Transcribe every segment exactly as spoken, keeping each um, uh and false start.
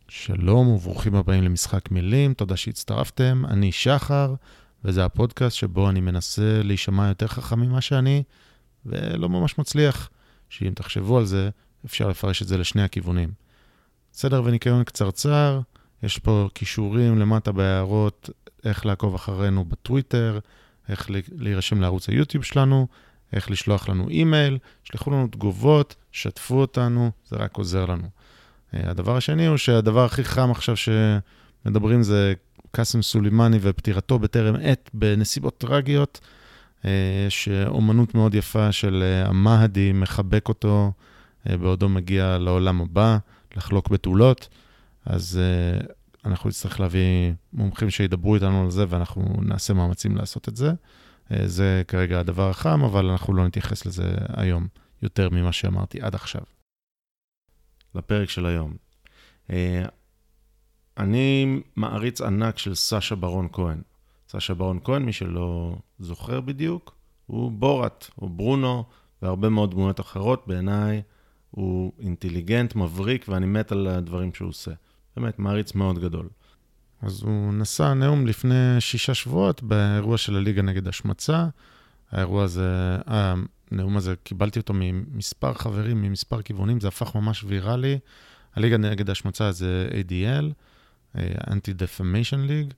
שלום וברוכים הבאים למשחק מילים, תודה שהצטרפתם, אני שחר, וזה הפודקאסט שבו אני מנסה להישמע יותר חכם ממה שאני, ולא ממש מצליח, שאם תחשבו על זה, אפשר לפרש את זה לשני הכיוונים. סדר וניקיון קצרצר, יש פה קישורים למטה בהערות, איך לעקוב אחרינו בטוויטר, איך להירשם לערוץ היוטיוב שלנו, איך לשלוח לנו אימייל, שלחו לנו תגובות, שתפו אותנו, זה רק עוזר לנו. הדבר השני הוא שהדבר הכי חם עכשיו שמדברים זה קאסם סולימני ופטירתו בטרם עת בנסיבות טרגיות. יש אומנות מאוד יפה של המהדי מחבק אותו בעודו מגיע לעולם הבא, לחלוק בתולות. אז אנחנו נצטרך להביא מומחים שידברו איתנו על זה ואנחנו נעשה מאמצים לעשות את זה. זה כרגע הדבר החם, אבל אנחנו לא נתייחס לזה היום יותר ממה שאמרתי עד עכשיו. לפרק של היום. אני מעריץ ענק של סשה ברון כהן. סשה ברון כהן, מי שלא זוכר בדיוק, הוא בורת, הוא ברונו, והרבה מאוד דמויות אחרות. בעיניי הוא אינטליגנט, מבריק, ואני מת על הדברים שהוא עושה. באמת, מעריץ מאוד גדול. אז הוא נשא נאום לפני שישה שבועות באירוע של הליגה נגד השמצה. האירוע הזה, הנאום הזה, קיבלתי אותו ממספר חברים, ממספר כיוונים, זה הפך ממש ויראלי. הליגה נגד השמצה זה איי די אל, Anti-Defamation League,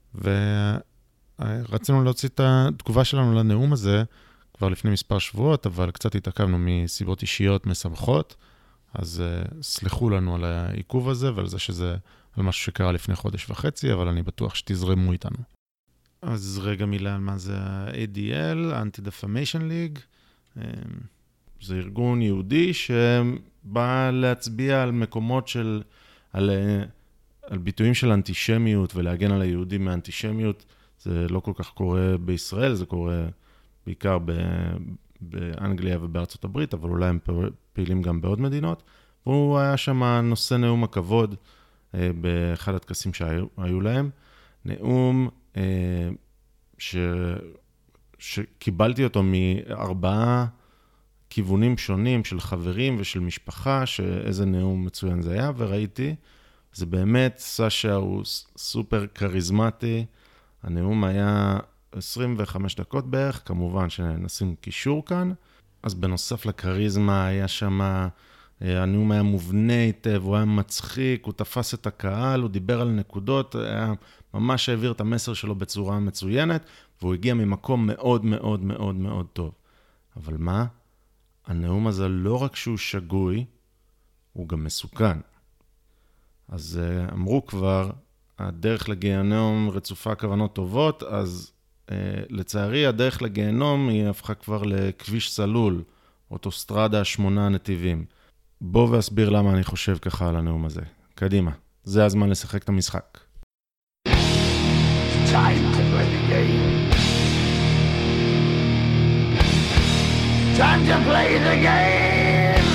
ורצינו להוציא את התגובה שלנו לנאום הזה כבר לפני מספר שבועות, אבל קצת התעכבנו מסיבות אישיות משמחות, אז סלחו לנו על העיכוב הזה ועל זה שזה על משהו שקרה לפני חודש וחצי, אבל אני בטוח שתזרמו איתנו. אז רגע מילה על מה זה ה-איי די אל, Anti-Defamation League. זה ארגון יהודי שבא להצביע על מקומות של, על, על ביטויים של אנטישמיות ולהגן על היהודים מאנטישמיות. זה לא כל כך קורה בישראל, זה קורה בעיקר ב, באנגליה ובארצות הברית, אבל אולי הם פעילים גם בעוד מדינות. והוא היה שם נושא נאום הכבוד באחד הטקסים שהיו להם. נאום ש... שקיבלתי אותו מארבעה כיוונים שונים של חברים ושל משפחה, שאיזה נאום מצוין זה היה, וראיתי, זה באמת, סשה הוא סופר קריזמטי, הנאום היה עשרים וחמש דקות בערך, כמובן שנשים קישור כאן, אז בנוסף לקריזמה היה שם, הנאום היה מובנה היטב, הוא היה מצחיק, הוא תפס את הקהל, הוא דיבר על נקודות, היה ממש העביר את המסר שלו בצורה מצוינת, והוא הגיע ממקום מאוד מאוד מאוד מאוד טוב. אבל מה? הנאום הזה לא רק שהוא שגוי, הוא גם מסוכן. אז אמרו כבר, הדרך לגיהנום רצופה כוונות טובות, אז לצערי הדרך לגיהנום היא הפכה כבר לכביש סלול, אוטוסטרדה שמונה נתיבים. בוא ואסביר למה אני חושב ככה על הנאום הזה. קדימה, זה הזמן לשחק את המשחק. Time to play the game. Time to play the game.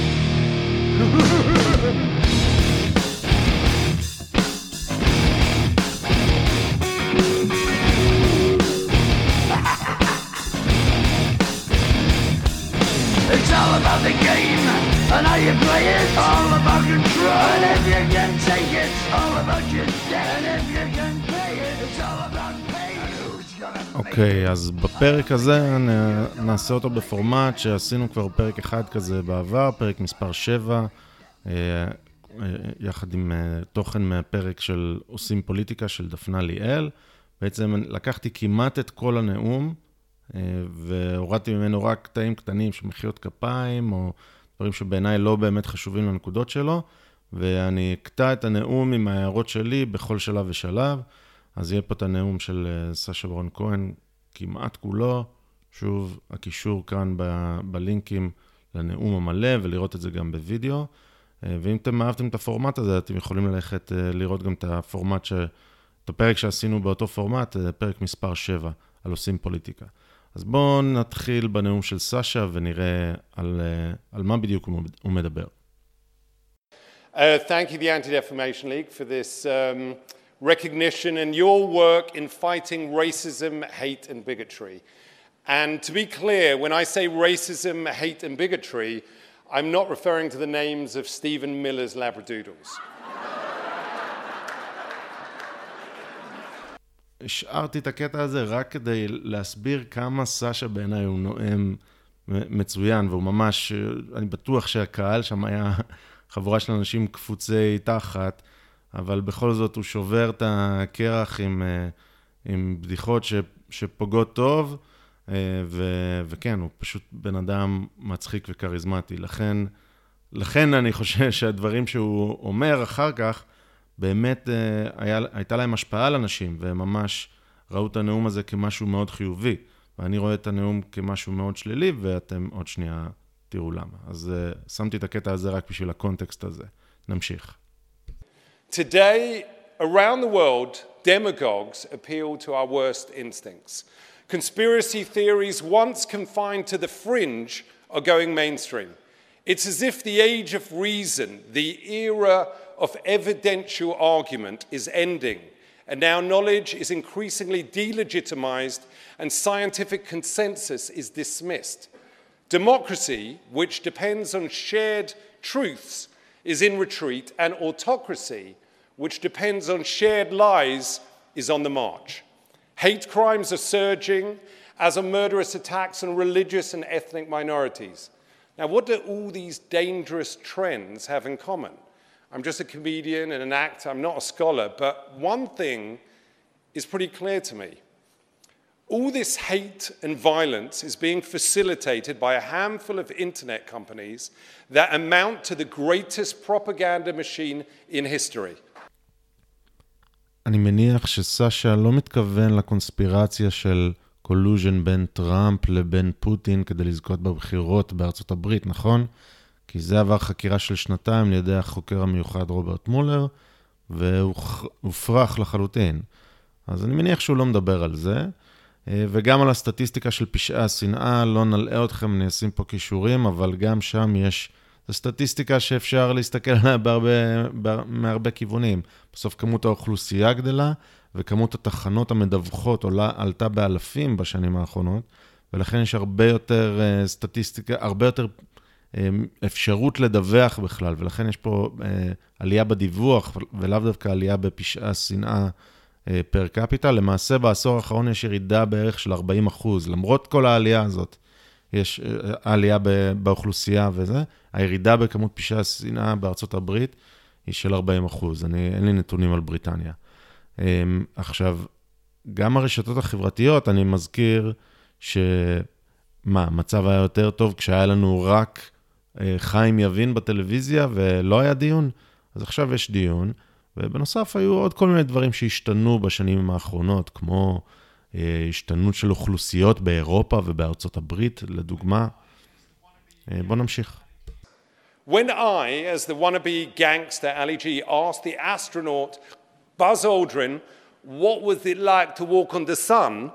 It's all about the game and how you play it. All about control. And if you can take it, it's all about your debt. And if you can pay it, it's all about pay. And who's gonna make it? אוקיי, אז בפרק הזה נעשה אותו בפורמט שעשינו כבר פרק אחד כזה בעבר, פרק מספר שבע, יחד עם תוכן מהפרק של עושים פוליטיקה של דפנה ליאל. בעצם לקחתי כמעט את כל הנאום, והורדתי ממנו רק קטעים קטנים של מחיאות כפיים, או דברים שבעיניי לא באמת חשובים לנקודות שלו, ואני אקטע את הנאום עם ההערות שלי בכל שלב ושלב. אז יהיה פה את הנאום של סשה ברון כהן כמעט כולו, שוב הקישור כאן ב- בלינקים לנאום המלא, ולראות את זה גם בווידאו. ואם אתם אהבתם את הפורמט הזה, אתם יכולים ללכת לראות גם את הפורמט, ש... את הפרק שעשינו באותו פורמט, פרק מספר שבע, על עושים פוליטיקה. אז בואו נתחיל בנאום של סשה ונראה על, על מה בדיוק הוא מדבר. Uh, thank you, the Anti-Defamation League, for this um, recognition and your work in fighting racism, hate and bigotry. And to be clear, when I say racism, hate and bigotry, I'm not referring to the names of Stephen Miller's Labradoodles. השארתי את הקטע הזה רק כדי להסביר כמה סשה בעיניי הוא נואם מצוין, והוא ממש, אני בטוח שהקהל שם היה חבורה של אנשים קפוצי תחת, אבל בכל זאת הוא שובר את הקרח עם, עם בדיחות ש, שפוגעות טוב, ו, וכן, הוא פשוט בן אדם מצחיק וקריזמטי. לכן, לכן אני חושב שהדברים שהוא אומר אחר כך, באמת היה, הייתה להם השפעה על אנשים, והם ממש ראו את הנאום הזה כמשהו מאוד חיובי. ואני רואה את הנאום כמשהו מאוד שלילי, ואתם עוד שנייה תראו למה. אז uh, שמתי את הקטע הזה רק בשביל הקונטקסט הזה. נמשיך. Today, around the world, demagogues appeal to our worst instincts. Conspiracy theories once confined to the fringe are going mainstream. It's as if the age of reason, the era of evidential argument is ending, and now knowledge is increasingly delegitimized and scientific consensus is dismissed. Democracy, which depends on shared truths, is in retreat, and autocracy, which depends on shared lies, is on the march. Hate crimes are surging, as are murderous attacks on religious and ethnic minorities. Now, what do all these dangerous trends have in common? I'm just a comedian and an actor, I'm not a scholar, but one thing is pretty clear to me. All this hate and violence is being facilitated by a handful of internet companies that amount to the greatest propaganda machine in history. אני מניח שסשה לא מתכוון לקונספירציה של קולוז'ן בין טראמפ לבין פוטין כדי לזכות בבחירות בארצות הברית, נכון? כי זה עבר חקירה של שנתיים לידי החוקר המיוחד רוברט מולר, והוא הופרך לחלוטין. אז אני מניח שהוא לא מדבר על זה, וגם על הסטטיסטיקה של פשעי השנאה, לא נלאה אתכם, אני אשים פה קישורים, אבל גם שם יש, זו סטטיסטיקה שאפשר להסתכל עליה בהרבה, מהרבה כיוונים. בסוף כמות האוכלוסייה גדלה, וכמות התחנות המדווחות עולה, עלתה באלפים בשנים האחרונות, ולכן יש הרבה יותר סטטיסטיקה, הרבה יותר אפשרות לדווח בכלל, ולכן יש פה עלייה בדיווח, ולאו דווקא עלייה בפשעי השנאה פר קפיטל. למעשה בעשור האחרון יש ירידה בערך של ארבעים אחוז, למרות כל העלייה הזאת, יש עלייה באוכלוסייה וזה, הירידה בכמות פשעי השנאה בארצות הברית היא של ארבעים אחוז, אני, אין לי נתונים על בריטניה. עכשיו, גם הרשתות החברתיות, אני מזכיר שמה, המצב היה יותר טוב כשהיה לנו רק חיים יבין בטלוויזיה ולא היה דיון, אז עכשיו יש דיון, ובנוסף היו עוד כל מיני דברים שהשתנו בשנים האחרונות, כמו השתנות של אוכלוסיות באירופה ובארצות הברית, לדוגמה. בוא נמשיך. When I, as the wannabe gangster Ali G, asked the astronaut Buzz Aldrin, what was it like to walk on the sun?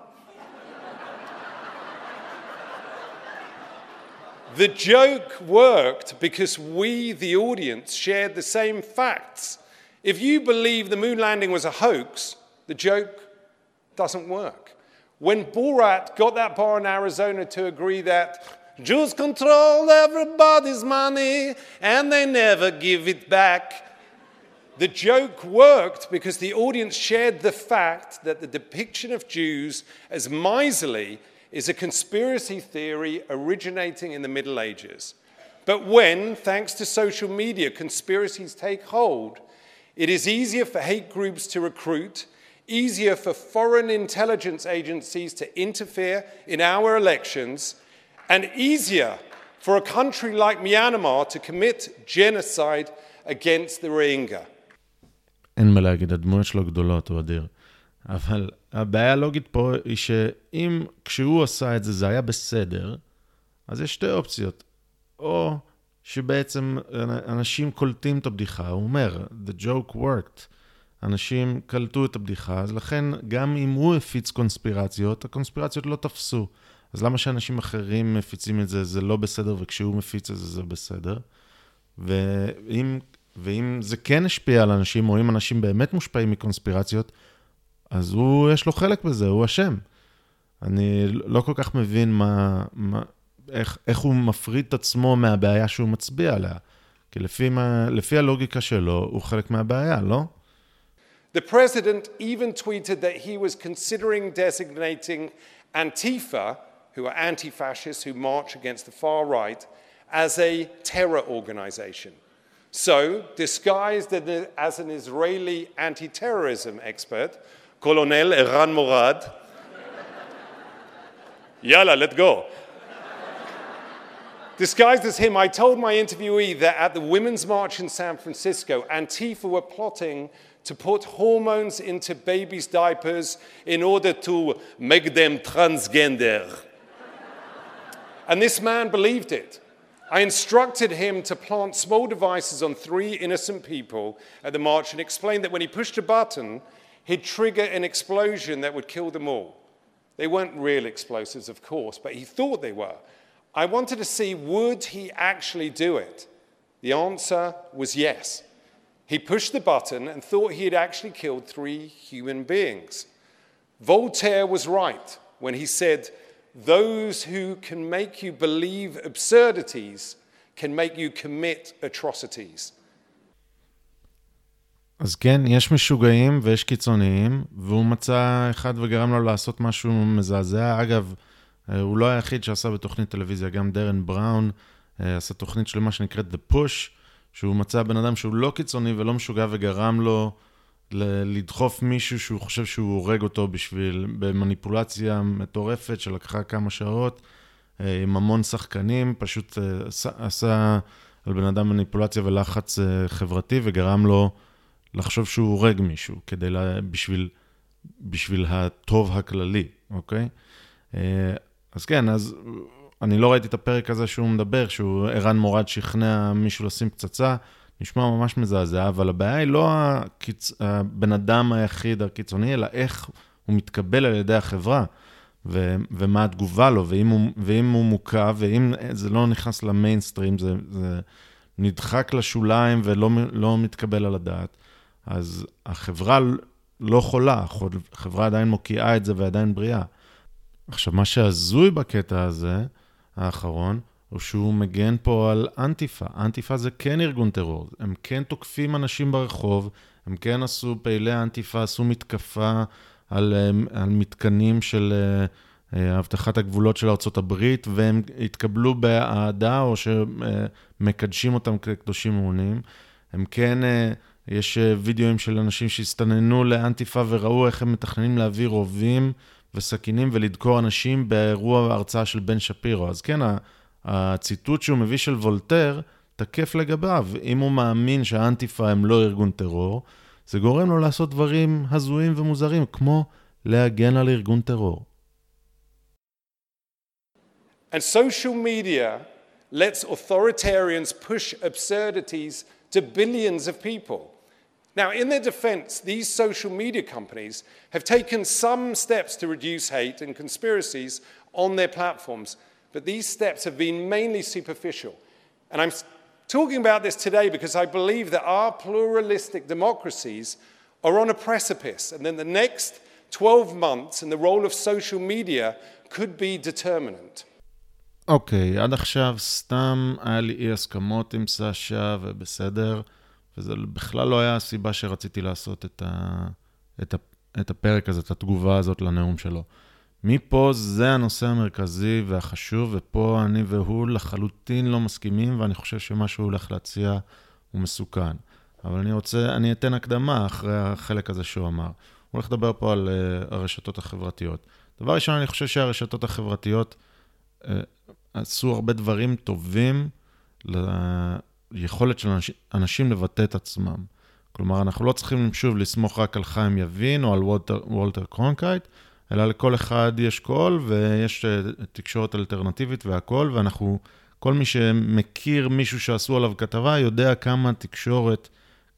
The joke worked because we, the audience, shared the same facts. If you believe the moon landing was a hoax, the joke doesn't work. When Borat got that bar in Arizona to agree that Jews control everybody's money and they never give it back, the joke worked because the audience shared the fact that the depiction of Jews as miserly is a conspiracy theory originating in the Middle Ages. But when, thanks to social media, conspiracies take hold, it is easier for hate groups to recruit, easier for foreign intelligence agencies to interfere in our elections, and easier for a country like Myanmar to commit genocide against the Rohingya. אין מה להגיד, הדמויות שלו גדולות, הוא אדיר. אבל הבעיה הלוגית פה היא שאם כשהוא עשה את זה, זה היה בסדר, אז יש שתי אופציות. או שבעצם אנשים קולטים את הבדיחה, הוא אומר, the joke worked. אנשים קלטו את הבדיחה, אז לכן גם אם הוא הפיץ קונספירציות, הקונספירציות לא תפסו. אז למה שאנשים אחרים מפיצים את זה, זה לא בסדר, וכשהוא מפיץ את זה, זה בסדר. ואם, ואם זה כן השפיע על אנשים, או אם אנשים באמת מושפעים מקונספירציות, אז הוא, יש לו חלק בזה, הוא אשם. אני לא כל כך מבין מה, מה, איך, איך הוא מפריד את עצמו מהבעיה שהוא מצביע עליה. כי לפי, מה, לפי הלוגיקה שלו, הוא חלק מהבעיה, לא? The president even tweeted that he was considering designating Antifa, who are anti-fascists who march against the far right, as a terror organization. So, disguised as an Israeli anti-terrorism expert, Colonel Eran Morad, yalla, let's go. Disguised as him, I told my interviewee that at the Women's March in San Francisco, Antifa were plotting to put hormones into babies' diapers in order to make them transgender. And this man believed it. I instructed him to plant small devices on three innocent people at the march and explained that when he pushed a button, he'd trigger an explosion that would kill them all. They weren't real explosives, of course, but he thought they were. I wanted to see, would he actually do it? The answer was yes. He pushed the button and thought he had actually killed three human beings. Voltaire was right when he said, those who can make you believe absurdities can make you commit atrocities. אז כן, יש משוגעים ויש קיצוניים, והוא מצא אחד וגרם לו לעשות משהו מזעזע. אגב, הוא לא היחיד שעשה בתוכנית טלוויזיה, גם דרן בראון עשה תוכנית שלמה שנקראת The Push, שהוא מצא בן אדם שהוא לא קיצוני ולא משוגע וגרם לו לדחוף מישהו שהוא חושב שהוא הורג אותו בשביל, במניפולציה מטורפת שלקחה כמה שעות, עם המון שחקנים, פשוט עשה על בן אדם מניפולציה ולחץ חברתי וגרם לו לחשוב שהוא הורג מישהו, כדי לה, בשביל, בשביל הטוב הכללי, אוקיי? אז כן, אז אני לא ראיתי את הפרק הזה שהוא מדבר, שהוא ערן מורד שכנע מישהו לשים פצצה, נשמע ממש מזעזע, אבל הבעיה היא לא הקיצ... הבן אדם היחיד הקיצוני, אלא איך הוא מתקבל על ידי החברה, ו... ומה התגובה לו, ואם הוא, ואם הוא מוקע, ואם זה לא נכנס למיינסטרים, זה, זה נדחק לשוליים ולא לא מתקבל על הדעת, אז החברה לא חולה, החברה עדיין מוקיעה את זה ועדיין בריאה. עכשיו, מה שעזוי בקטע הזה, האחרון, הוא שהוא מגן פה על אנטיפה. אנטיפה זה כן ארגון טרור. הם כן תוקפים אנשים ברחוב, הם כן עשו פעילי אנטיפה, עשו מתקפה על, על מתקנים של הבטחת הגבולות של ארצות הברית, והם התקבלו באהדה או שמקדשים אותם כקדושים מעונים. הם כן, יש וידאוים של אנשים שהסתננו לאנטיפה וראו איך הם מתכננים להביא רובים וסכינים ולדקור אנשים באירוע ההרצאה של בן שפירו. אז כן, הציטוט שהוא מביא של וולטר תקף לגביו. אם הוא מאמין שהאנטיפה הם לא ארגון טרור, זה גורם לו לעשות דברים הזויים ומוזרים, כמו להגן על ארגון טרור. And social media lets authoritarians push absurdities to billions of people. Now, in their defense, these social media companies have taken some steps to reduce hate and conspiracies on their platforms, but these steps have been mainly superficial. And I'm talking about this today because I believe that our pluralistic democracies are on a precipice, and then the next twelve months and the role of social media could be determinant. אוקיי, עד עכשיו סתם היה לי אי הסכמות עם סשה ובסדר, וזה בכלל לא היה הסיבה שרציתי לעשות את, ה... את, ה... את הפרק הזה, את התגובה הזאת לנאום שלו. מפה זה הנושא המרכזי והחשוב, ופה אני והוא לחלוטין לא מסכימים, ואני חושב שמה שהוא הולך להציע הוא מסוכן. אבל אני רוצה, אני אתן הקדמה אחרי החלק הזה שהוא אמר. הוא הולך לדבר פה על uh, הרשתות החברתיות. דבר ראשון, אני חושב שהרשתות החברתיות uh, עשו הרבה דברים טובים ליכולת של אנשים, אנשים לבטא את עצמם. כלומר, אנחנו לא צריכים שוב לסמוך רק על חיים יבין או על וולטר, וולטר קרונקייט, אלא לכל אחד יש קול ויש תקשורת אלטרנטיבית והכל, ואנחנו, כל מי שמכיר מישהו שעשו עליו כתבה, יודע כמה תקשורת,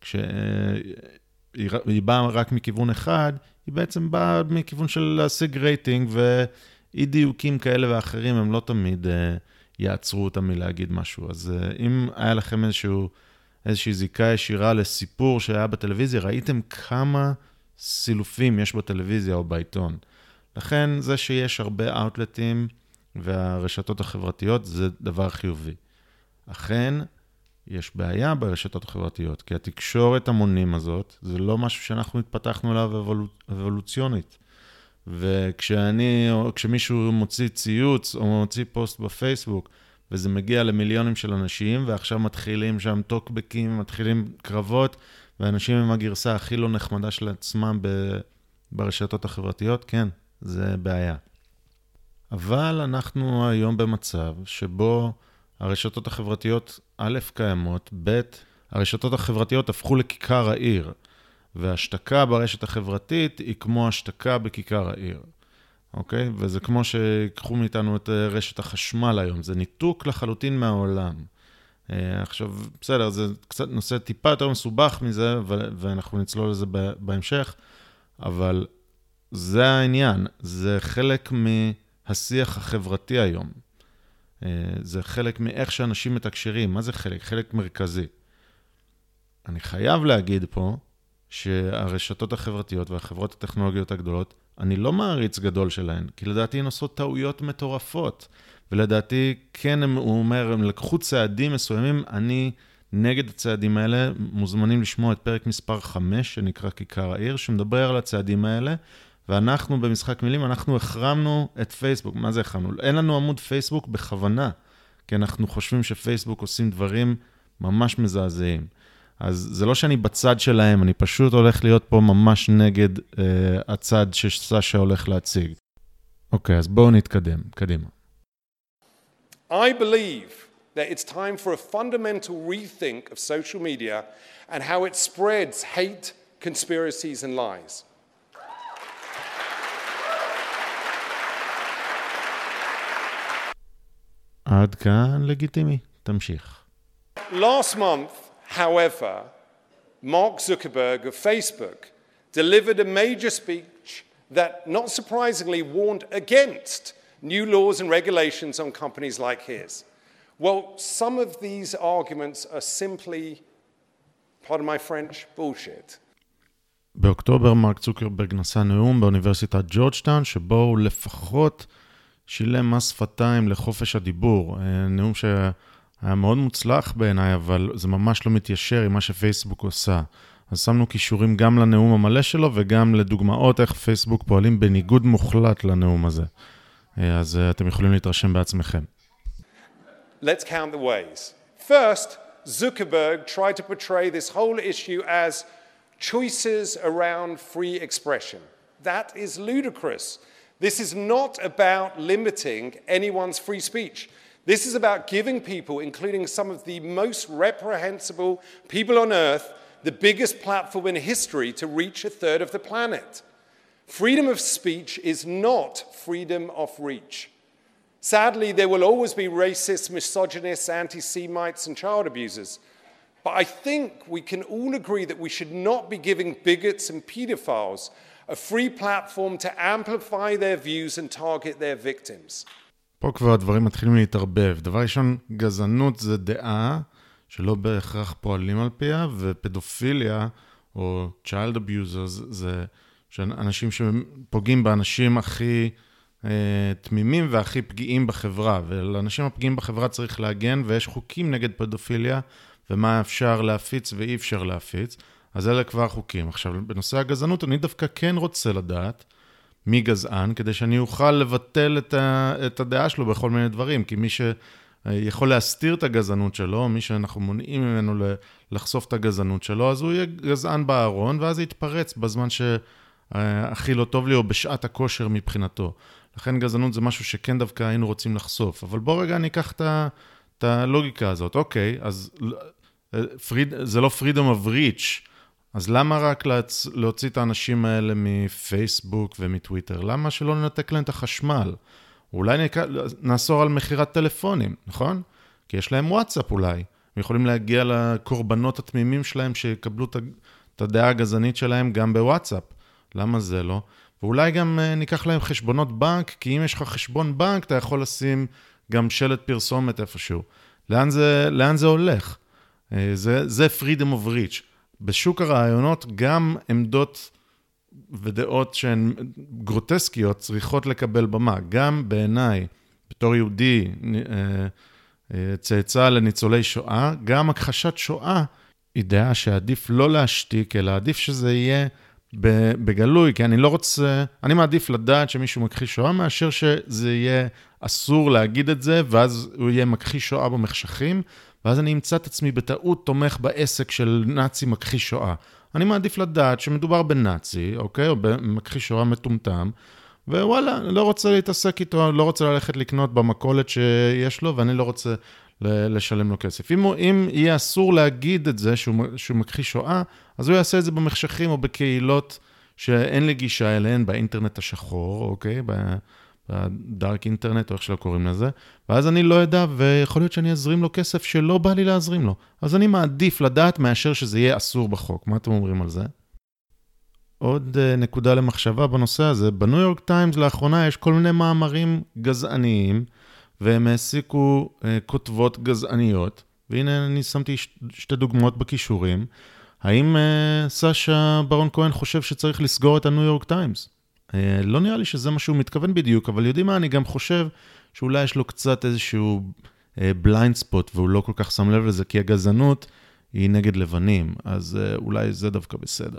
כשהיא באה רק מכיוון אחד, היא בעצם באה מכיוון של להשיג רייטינג, ואי דיוקים כאלה ואחרים, הם לא תמיד יעצרו אותם מלהגיד משהו. אז אם היה לכם איזשהו, איזושהי זיקה ישירה לסיפור שהיה בטלוויזיה, ראיתם כמה סילופים יש בטלוויזיה או בעיתון. לכן זה שיש הרבה אאוטלטים והרשתות החברתיות זה דבר חיובי. אכן, יש בעיה ברשתות החברתיות, כי התקשורת המונים הזאת, זה לא משהו שאנחנו התפתחנו עליו אבולוצ... אבולוציונית. וכשאני, או כשמישהו מוציא ציוץ, או מוציא פוסט בפייסבוק, וזה מגיע למיליונים של אנשים, ועכשיו מתחילים שם טוקבקים, מתחילים קרבות, ואנשים עם הגרסה הכי לא נחמדה של עצמם ב... ברשתות החברתיות, כן, זה בעיה. אבל אנחנו היום במצב שבו הרשתות החברתיות א' קיימות, ב' הרשתות החברתיות הפכו לכיכר העיר, והשתקה ברשת החברתית היא כמו השתקה בכיכר העיר. אוקיי? וזה כמו שיקחו מאיתנו את רשת החשמל היום, זה ניתוק לחלוטין מהעולם. עכשיו, בסדר, זה קצת נושא טיפה יותר מסובך מזה, ואנחנו נצלול לזה בהמשך, אבל זה העניין, זה חלק מהשיח החברתי היום. זה חלק מאיך שאנשים מתקשרים. מה זה חלק? חלק מרכזי. אני חייב להגיד פה שהרשתות החברתיות והחברות הטכנולוגיות הגדולות, אני לא מעריץ גדול שלהן, כי לדעתי הן עושות טעויות מטורפות, ולדעתי כן, הם, הוא אומר, הם לקחו צעדים מסוימים, אני נגד הצעדים האלה, מוזמנים לשמוע את פרק מספר חמש, שנקרא כיכר העיר, שמדבר על הצעדים האלה, ואנחנו במשחק מילים, אנחנו החרמנו את פייסבוק. מה זה החרמנו? אין לנו עמוד פייסבוק בכוונה, כי אנחנו חושבים שפייסבוק עושים דברים ממש מזעזעים. אז זה לא שאני בצד שלהם, אני פשוט הולך להיות פה ממש נגד אה, הצד שסשה הולך להציג. אוקיי, אז בואו נתקדם, קדימה. I believe that it's time for a fundamental rethink of social media and how it spreads hate, conspiracies and lies. עד כאן לגיטימי, תמשיך. Last month, however, Mark Zuckerberg of Facebook delivered a major speech that, not surprisingly, warned against new laws and regulations on companies like his. Well, some of these arguments are simply, pardon my French, bullshit. באוקטובר מרק צוקרברג נשא נאום באוניברסיטת ג'ורג'טאון, שבו הוא לפחות שילם מס שפתיים לחופש הדיבור. נאום שהיה מאוד מוצלח בעיניי, אבל זה ממש לא מתיישר עם מה שפייסבוק עושה. אז שמנו קישורים גם לנאום המלא שלו, וגם לדוגמאות איך פייסבוק פועלים בניגוד מוחלט לנאום הזה. אז אתם יכולים להתרשם בעצמכם. Let's count the ways. First, Zuckerberg tried to portray this whole issue as choices around free expression. That is ludicrous. This is not about limiting anyone's free speech. This is about giving people, including some of the most reprehensible people on earth, the biggest platform in history to reach a third of the planet. Freedom of speech is not freedom of reach. Sadly, there will always be racists, misogynists, anti-Semites, and child abusers. But I think we can all agree that we should not be giving bigots and pedophiles a free platform to amplify their views and target their victims. פה כבר הדברים מתחילים להתערבב. דבר ראשון, גזענות זה דעה שלא בהכרח פועלים על פיה, ופדופיליה או child abusers זה אנשים שפוגעים באנשים הכי תמימים והכי פגיעים בחברה, ולאנשים הפגיעים בחברה צריך להגן, ויש חוקים נגד פדופיליה, ומה אפשר להפיץ ואי אפשר להפיץ, אז אלה כבר חוקים. עכשיו, בנושא הגזענות, אני דווקא כן רוצה לדעת מי גזען, כדי שאני אוכל לבטל את, ה, את הדעה שלו בכל מיני דברים, כי מי שיכול להסתיר את הגזענות שלו, מי שאנחנו מונעים ממנו לחשוף את הגזענות שלו, אז הוא יהיה גזען בארון, ואז יתפרץ בזמן שהכי לא טוב לי, או בשעת הכושר מבחינתו. לכן גזענות זה משהו שכן דווקא היינו רוצים לחשוף. אבל בוא רגע ניקח את הלוגיקה הזאת. אוקיי, אז זה לא freedom of reach, אז למה רק להוציא את האנשים האלה מפייסבוק ומטוויטר? למה שלא ננתק להם את החשמל? אולי נאסור על מחירת טלפונים, נכון? כי יש להם וואטסאפ אולי. הם יכולים להגיע לקורבנות התמימים שלהם שיקבלו את הדעה הגזענית שלהם גם בוואטסאפ. למה זה לא? ואולי גם ניקח להם חשבונות בנק, כי אם יש לך חשבון בנק, אתה יכול לשים גם שלט פרסומת איפשהו. לאן זה, לאן זה הולך? זה, זה freedom of reach. בשוק הרעיונות גם עמדות ודעות שהן גרוטסקיות צריכות לקבל במה. גם בעיניי, בתור יהודי, צאצא לניצולי שואה, גם הכחשת שואה היא דעה שעדיף לא להשתיק, אלא עדיף שזה יהיה בגלוי, כי אני לא רוצה, אני מעדיף לדעת שמישהו מכחיש שואה, מאשר שזה יהיה אסור להגיד את זה, ואז הוא יהיה מכחיש שואה במחשכים, ואז אני אמצא את עצמי בטעות תומך בעסק של נאצי מכחיש שואה. אני מעדיף לדעת שמדובר בנאצי, אוקיי? או במכחיש שואה מטומטם, ווואלה, לא רוצה להתעסק איתו, לא רוצה ללכת לקנות במכולת שיש לו, ואני לא רוצה לשלם לו כסף. אם, אם יהיה אסור להגיד את זה שהוא, שהוא מכחיש שואה, אז הוא יעשה את זה במחשכים או בקהילות שאין לי גישה אליהן באינטרנט השחור, אוקיי? בדארק אינטרנט, או איך שלא קוראים לזה. ואז אני לא יודע, ויכול להיות שאני אזרים לו כסף שלא בא לי להזרים לו. אז אני מעדיף לדעת מאשר שזה יהיה אסור בחוק. מה אתם אומרים על זה? עוד נקודה למחשבה בנושא הזה. בניו יורק טיימס לאחרונה יש כל מיני מאמרים גזעניים, והם העסיקו כותבות גזעניות, והנה אני שמתי שתי דוגמאות בכישורים. האם סשה ברון כהן חושב שצריך לסגור את הניו יורק טיימס? לא נראה לי שזה מה שהוא מתכוון בדיוק, אבל יודעים מה, אני גם חושב שאולי יש לו קצת איזשהו בליינד ספוט, והוא לא כל כך שם לב לזה, כי הגזענות היא נגד לבנים, אז אולי זה דווקא בסדר.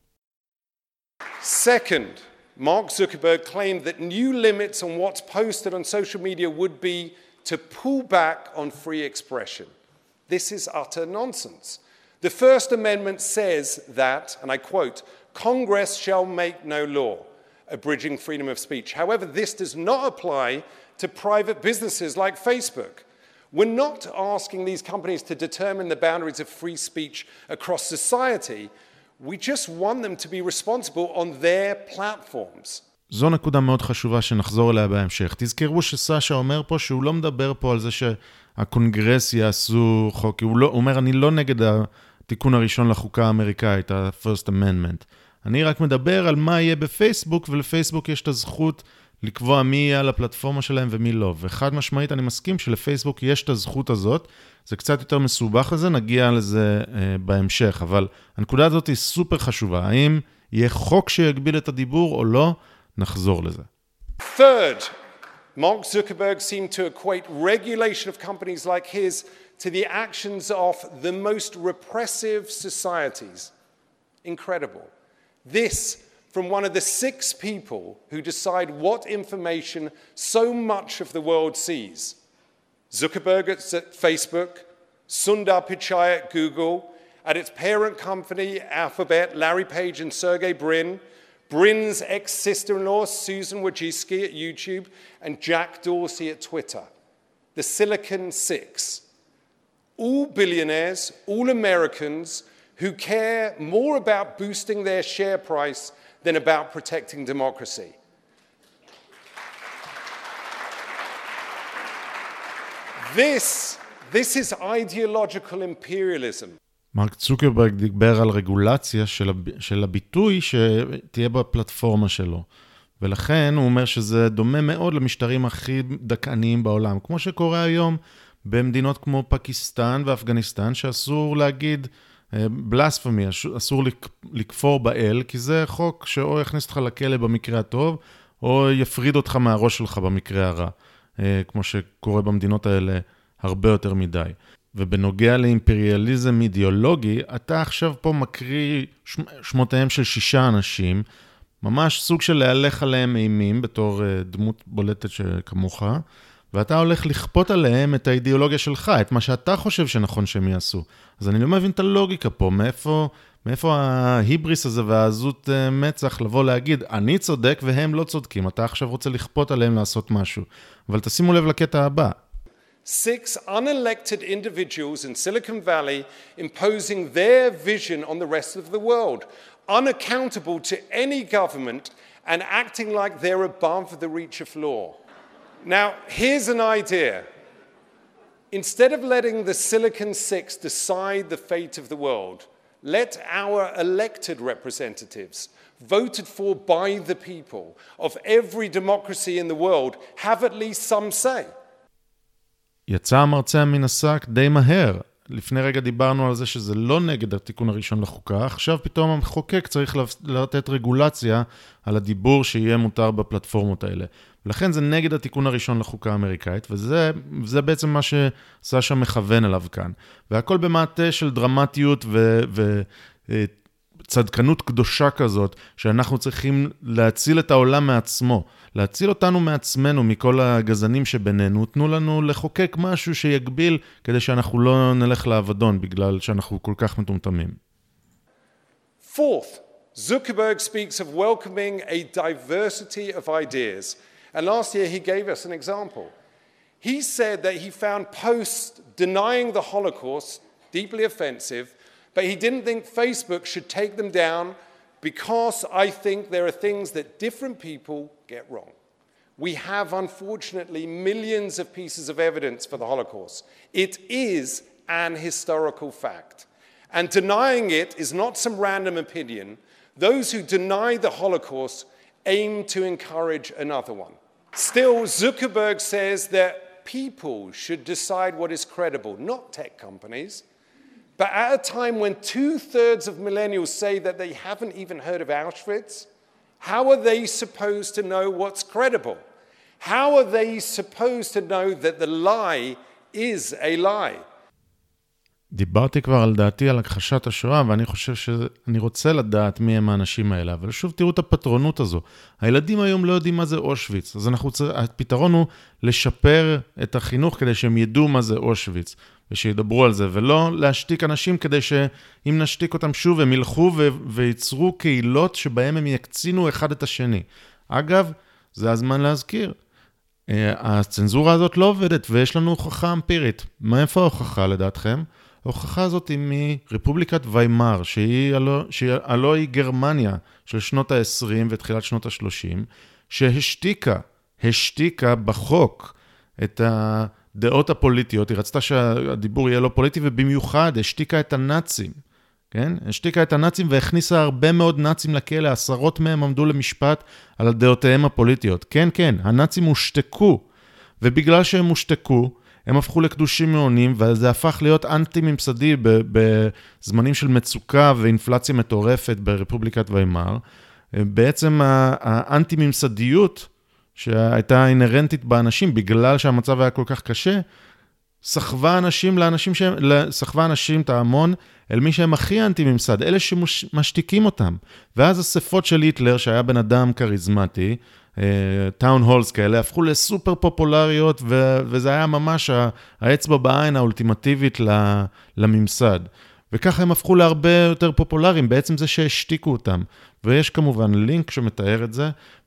Second, Mark Zuckerberg claimed that new limits on what's posted on social media would be to pull back on free expression. This is utter nonsense. The First Amendment says that, and I quote, Congress shall make no law abridging freedom of speech. However, this does not apply to private businesses like Facebook. We're not asking these companies to determine the boundaries of free speech across society. We just want them to be responsible on their platforms. זו נקודה מאוד חשובה שנחזור אליה בהמשך. תזכרו שסשה אומר פה שהוא לא מדבר פה על זה שהקונגרס יעשו חוק. הוא, לא, הוא אומר, אני לא נגד התיקון הראשון לחוקה האמריקאית, ה-First Amendment. אני רק מדבר על מה יהיה בפייסבוק, ולפייסבוק יש את הזכות לקבוע מי יהיה על הפלטפורמה שלהם ומי לא. וחד משמעית אני מסכים שלפייסבוק יש את הזכות הזאת. זה קצת יותר מסובך לזה, נגיע לזה אה, בהמשך. אבל הנקודה הזאת היא סופר חשובה. האם יהיה חוק שיגביל את הדיבור או לא? נחזור לזה. Third, Mark Zuckerberg seemed to equate regulation of companies like his to the actions of the most repressive societies. Incredible. This from one of the six people who decide what information so much of the world sees. Zuckerberg at Facebook, Sundar Pichai at Google, at its parent company Alphabet, Larry Page and Sergey Brin, Brin's ex-sister-in-law Susan Wojcicki at YouTube, and Jack Dorsey at Twitter. The Silicon Six. All billionaires, all Americans who care more about boosting their share price than about protecting democracy. This, this is ideological imperialism. מרק צוקרברג דיבר על רגולציה של, הב... של הביטוי שתהיה בפלטפורמה שלו. ולכן הוא אומר שזה דומה מאוד למשטרים הכי דכאניים בעולם. כמו שקורה היום במדינות כמו פקיסטן ואפגניסטן, שאסור להגיד בלספמי, אסור לכפור באל, כי זה חוק שאו יכניס אותך לכלא במקרה הטוב, או יפריד אותך מהראש שלך במקרה הרע. כמו שקורה במדינות האלה הרבה יותר מדי. ובנוגע לאימפריאליזם אידיאולוגי, אתה עכשיו פה מקריא שמותיהם של שישה אנשים, ממש סוג של להלך עליהם אימים בתור דמות בולטת כמוך, ואתה הולך לכפות עליהם את האידיאולוגיה שלך, את מה שאתה חושב שנכון שהם יעשו. אז אני לא מבין את הלוגיקה פה, מאיפה, מאיפה ההיבריס הזה והעזות מצח לבוא להגיד, אני צודק והם לא צודקים, אתה עכשיו רוצה לכפות עליהם לעשות משהו. אבל תשימו לב לקטע הבא. Six unelected individuals in Silicon Valley imposing their vision on the rest of the world, unaccountable to any government and acting like they're above the reach of law. Now, here's an idea. Instead of letting the Silicon Six decide the fate of the world, let our elected representatives, voted for by the people of every democracy in the world, have at least some say. יצא המרצע מן השק די מהר. לפני רגע דיברנו על זה שזה לא נגד התיקון הראשון לחוקה, עכשיו פתאום המחוקק צריך לתת רגולציה על הדיבור שיהיה מותר בפלטפורמות האלה. ולכן זה נגד התיקון הראשון לחוקה האמריקאית, וזה זה בעצם מה שסשה מכוון אליו כאן. והכל במעטה של דרמטיות ו... ו צדקנות קדושה כזאת, שאנחנו צריכים להציל את העולם מעצמו, להציל אותנו מעצמנו, מכל הגזנים שבינינו, תנו לנו לחוקק משהו שיגביל, כדי שאנחנו לא נלך לעבדון, בגלל שאנחנו כל כך מטומטמים. Fourth, Zuckerberg speaks of welcoming a diversity of ideas. And last year he gave us an example. He said that he found posts denying the Holocaust deeply offensive, but he didn't think Facebook should take them down because I think there are things that different people get wrong. We have, unfortunately, millions of pieces of evidence for the Holocaust. It is an historical fact. And denying it is not some random opinion. Those who deny the Holocaust aim to encourage another one. Still, Zuckerberg says that people should decide what is credible, not tech companies. But at a time when two-thirds of millennials say that they haven't even heard of Auschwitz, how are they supposed to know what's credible? How are they supposed to know that the lie is a lie? דיברתי כבר על דעתי על הכחשת השואה, ואני חושב שאני רוצה לדעת מי הם האנשים האלה, אבל שוב תראו את הפטרונות הזו. הילדים היום לא יודעים מה זה אושוויץ, אז אנחנו צריכים, הפתרון הוא לשפר את החינוך כדי שהם ידעו מה זה אושוויץ, ושידברו על זה, ולא להשתיק אנשים כדי שאם נשתיק אותם שוב, הם ילכו ו- וייצרו קהילות שבהם הם יקצינו אחד את השני. אגב, זה הזמן להזכיר. הצנזורה הזאת לא עובדת, ויש לנו הוכחה אמפירית. מאיפה ההוכחה לדעתכם? ההוכחה הזאת היא מרפובליקת ויימאר, שהיא הלא, שהיא הלא היא גרמניה של שנות ה-עשרים ותחילת שנות ה-שלושים, שהשתיקה, השתיקה בחוק את הדעות הפוליטיות. היא רצתה שהדיבור יהיה לא פוליטי, ובמיוחד השתיקה את הנאצים. כן? השתיקה את הנאצים והכניסה הרבה מאוד נאצים לכלא, עשרות מהם עמדו למשפט על דעותיהם הפוליטיות. כן, כן, הנאצים הושתקו, ובגלל שהם הושתקו, הם הפכו לקדושים מעונים, וזה הפך להיות אנטי-ממסדי בזמנים של מצוקה ואינפלציה מטורפת ברפובליקת ויימאר. בעצם האנטי-ממסדיות שהייתה אינרנטית באנשים, בגלל שהמצב היה כל כך קשה, סחבה אנשים לאנשים שהם, סחבה אנשים את ההמון אל מי שהם הכי אנטי-ממסד, אלה שמשתיקים אותם. ואז הספות של היטלר, שהיה בן אדם קריזמטי, טאון הולס כאלה, הפכו לסופר פופולריות, ו- וזה היה ממש האצבע בעין האולטימטיבית לממסד. וככה הם הפכו להרבה יותר פופולריים, בעצם זה שהשתיקו אותם. ויש כמובן לינק שמתאר את זה,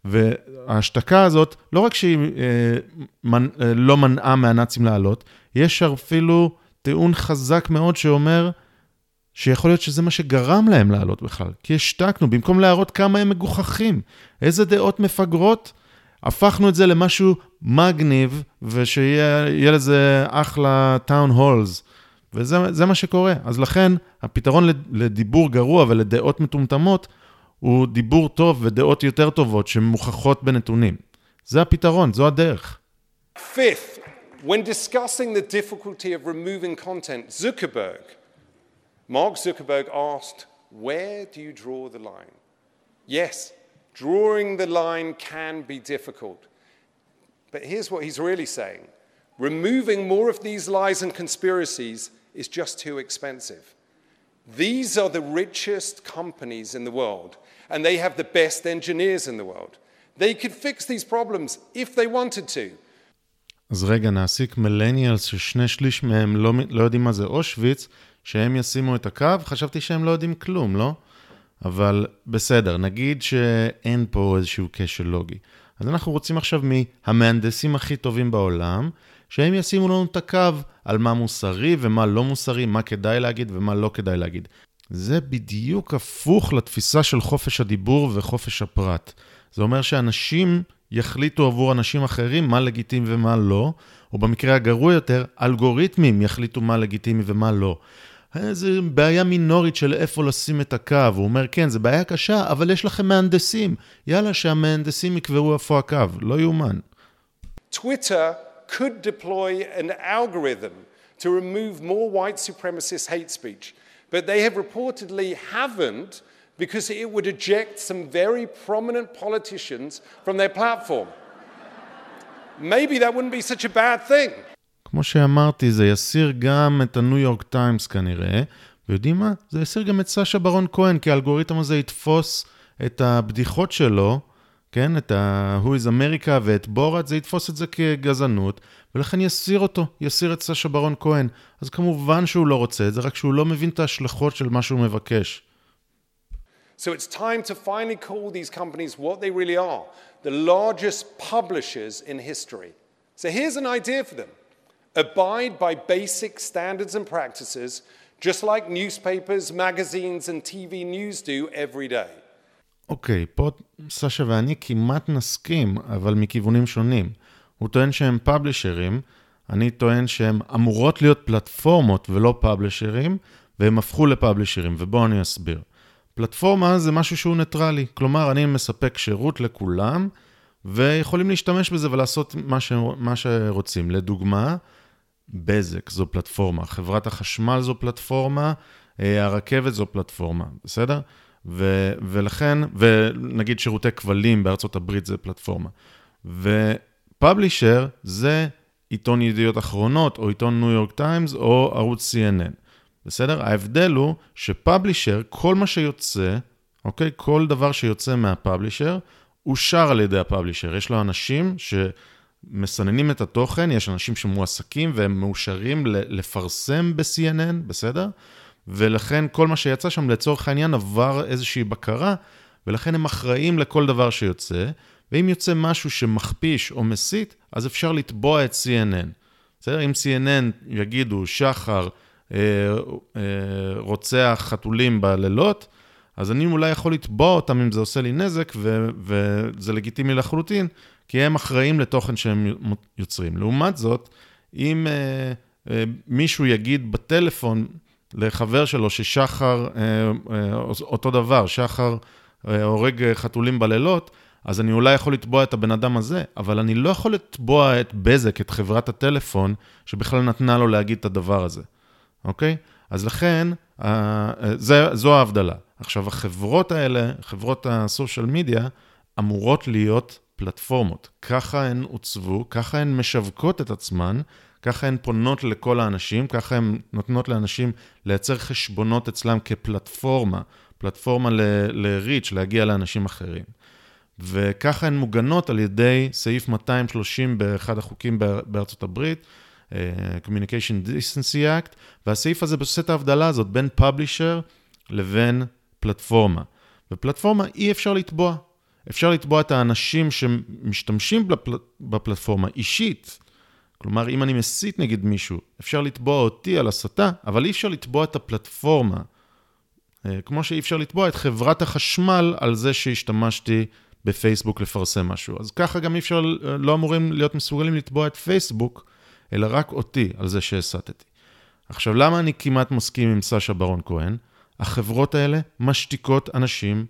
וההשתקה הזאת, לא רק שהיא אה, מנ, אה, לא מנעה מהנאצים לעלות, יש אפילו טיעון חזק מאוד שאומר, שיכול להיות שזה מה שגרם להם לעלות בכלל, כי השתקנו, במקום להראות כמה הם מגוחכים, איזה דעות מפגרות, הפכנו את זה למשהו מגניב, ושיהיה לזה אחלה טאון הולס, וזה זה מה שקורה. אז לכן, הפתרון לדיבור גרוע ולדעות מטומטמות, הוא דיבור טוב ודעות יותר טובות, שמוכחות בנתונים. זה הפתרון, זו הדרך. Fifth, when discussing the difficulty of removing content, Zuckerberg, Mark Zuckerberg asked, where do you draw the line? Yes, drawing the line can be difficult. But here's what he's really saying. Removing more of these lies and conspiracies is just too expensive. These are the richest companies in the world, and they have the best engineers in the world. They could fix these problems if they wanted to. אז רגע, נעסיק מילניאלס ששני שליש מהם לא, לא יודעים מה זה אושוויץ, שהם ישימו את הקו, חשבתי שהם לא יודעים כלום, לא? אבל בסדר, נגיד שאין פה איזשהו קשר לוגי. אז אנחנו רוצים עכשיו מהמהנדסים הכי טובים בעולם, שהם ישימו לנו את הקו על מה מוסרי ומה לא מוסרי, מה כדאי להגיד ומה לא כדאי להגיד. זה בדיוק הפוך לתפיסה של חופש הדיבור וחופש הפרט. זה אומר שאנשים יחליטו עבור אנשים אחרים מה לגיטימי ומה לא, או במקרה הגרוע יותר, אלגוריתמים יחליטו מה לגיטימי ומה לא. זו בעיה מינורית של איפה לשים את הקו. הוא אומר, כן, זו בעיה קשה, אבל יש לכם מהנדסים. יאללה, שהמהנדסים יקבעו איפה הקו. לא יאומן. Twitter could deploy an algorithm to remove more white supremacist hate speech, but they have reportedly haven't because it would eject some very prominent politicians from their platform. maybe that wouldn't be such a bad thing. כמו שאמרתי, זה יסיר גם את הניו יורק טיימס כנראה, ויודעים מה? זה יסיר גם את סשה ברון כהן, כי האלגוריתם הזה יתפוס את הבדיחות שלו, כן? את ה-Who is America ואת בורת, זה יתפוס את זה כגזענות, ולכן יסיר אותו, יסיר את סשה ברון כהן. אז כמובן שהוא לא רוצה את זה, רק שהוא לא מבין את ההשלכות של מה שהוא מבקש. So it's time to finally call these companies what they really are, the largest publishers in history. So here's an idea for them. Abide by basic standards and practices, just like newspapers, magazines and T V news do every day. אוקיי, פה סשה ואני כמעט נסכים, אבל מכיוונים שונים. הוא טוען שהם פאבלישרים, אני טוען שהם אמורות להיות פלטפורמות ולא פאבלישרים, והם הפכו לפאבלישרים, ובואו אני אסביר. פלטפורמה זה משהו שהוא ניטרלי, כלומר אני מספק שירות לכולם, ויכולים להשתמש בזה ולעשות מה, ש... מה שרוצים. לדוגמה, בזק זו פלטפורמה, חברת החשמל זו פלטפורמה, הרכבת זו פלטפורמה, בסדר? ו... ולכן, ונגיד שירותי כבלים בארצות הברית זה פלטפורמה. ופאבלישר זה עיתון ידיעות אחרונות, או עיתון ניו יורק טיימס, או ערוץ סי אן אן. בסדר? ההבדל הוא שפאבלישר, כל מה שיוצא, אוקיי? כל דבר שיוצא מהפאבלישר, אושר על ידי הפאבלישר. יש לו אנשים שמסננים את התוכן, יש אנשים שמועסקים והם מאושרים לפרסם ב-סי אן אן, בסדר? ולכן כל מה שיצא שם לצורך העניין עבר איזושהי בקרה, ולכן הם אחראים לכל דבר שיוצא, ואם יוצא משהו שמכפיש או מסית, אז אפשר לתבוע את סי אן אן. בסדר? אם סי אן אן יגידו שחר, רוצח חתולים בלילות, אז אני אולי יכול לתבוע אותם אם זה עושה לי נזק, ו- וזה לגיטימי לחלוטין, כי הם אחראים לתוכן שהם יוצרים. לעומת זאת, אם uh, uh, מישהו יגיד בטלפון לחבר שלו ששחר, uh, uh, אותו דבר, שחר uh, הורג חתולים בלילות, אז אני אולי יכול לתבוע את הבן אדם הזה, אבל אני לא יכול לתבוע את בזק, את חברת הטלפון, שבכלל נתנה לו להגיד את הדבר הזה. אוקיי? אז לכן, זה, זו ההבדלה. עכשיו, החברות האלה, חברות הסושיאל מדיה, אמורות להיות פלטפורמות. ככה הן עוצבו, ככה הן משווקות את עצמן, ככה הן פונות לכל האנשים, ככה הן נותנות לאנשים לייצר חשבונות אצלם כפלטפורמה, פלטפורמה ל-reach, להגיע לאנשים אחרים. וככה הן מוגנות על ידי סעיף מאתיים ושלושים באחד החוקים בארצות הברית, Communication Decency Act, והסעיף הזה עושה את ההבדלה הזאת בין פאבלישר לבין פלטפורמה. ופלטפורמה אי אפשר לתבוע. אפשר לתבוע את האנשים שמשתמשים בפלטפורמה אישית. כלומר, אם אני מסית נגד מישהו, אפשר לתבוע אותי על הסתה, אבל אי אפשר לתבוע את הפלטפורמה. כמו שאי אפשר לתבוע את חברת החשמל על זה שהשתמשתי בפייסבוק לפרסם משהו. אז ככה גם אי אפשר, לא אמורים להיות מסוגלים לתבוע את פייסבוק, אלא רק אותי על זה שהסתתי. עכשיו, למה אני כמעט מסכים עם סשה ברון כהן? החברות האלה משתיקות אנשים.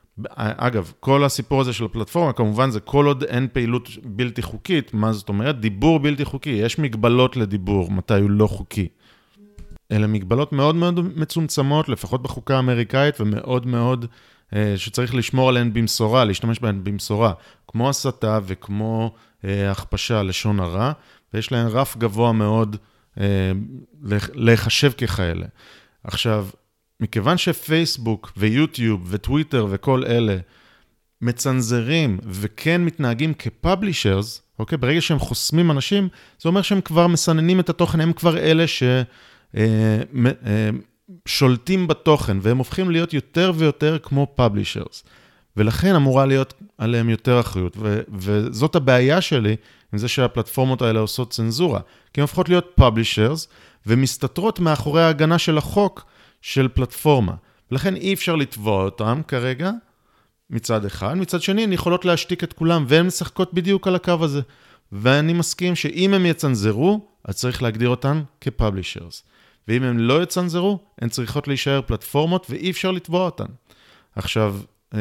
אגב, כל הסיפור הזה של הפלטפורמה, כמובן זה כל עוד אין פעילות בלתי חוקית. מה זאת אומרת? דיבור בלתי חוקי. יש מגבלות לדיבור, מתי הוא לא חוקי. אלה מגבלות מאוד מאוד מצומצמות, לפחות בחוקה האמריקאית, ומאוד מאוד אה, שצריך לשמור עליהן במשורה, להשתמש בהן במשורה, כמו הסתה וכמו אה, הכפשה, לשון הרע, ויש להן רף גבוה מאוד אה, לחשב ככאלה. עכשיו, מכיוון שפייסבוק ויוטיוב וטוויטר וכל אלה מצנזרים וכן מתנהגים כפאבלישרס, אוקיי? ברגע שהם חוסמים אנשים, זה אומר שהם כבר מסננים את התוכן, הם כבר אלה ששולטים בתוכן, והם הופכים להיות יותר ויותר כמו פאבלישרס. ולכן אמורה להיות עליהם יותר אחריות, ו- וזאת הבעיה שלי עם זה שהפלטפורמות האלה עושות צנזורה, כי הן הופכות להיות פאבלישרס, ומסתתרות מאחורי ההגנה של החוק של פלטפורמה. ולכן אי אפשר לתבוע אותם כרגע, מצד אחד. מצד שני, הן יכולות להשתיק את כולם, והן משחקות בדיוק על הקו הזה. ואני מסכים שאם הם יצנזרו, אז צריך להגדיר אותן כפאבלישרס. ואם הם לא יצנזרו, הן צריכות להישאר פלטפורמות, ואי אפשר לתבוע אותן. עכשיו,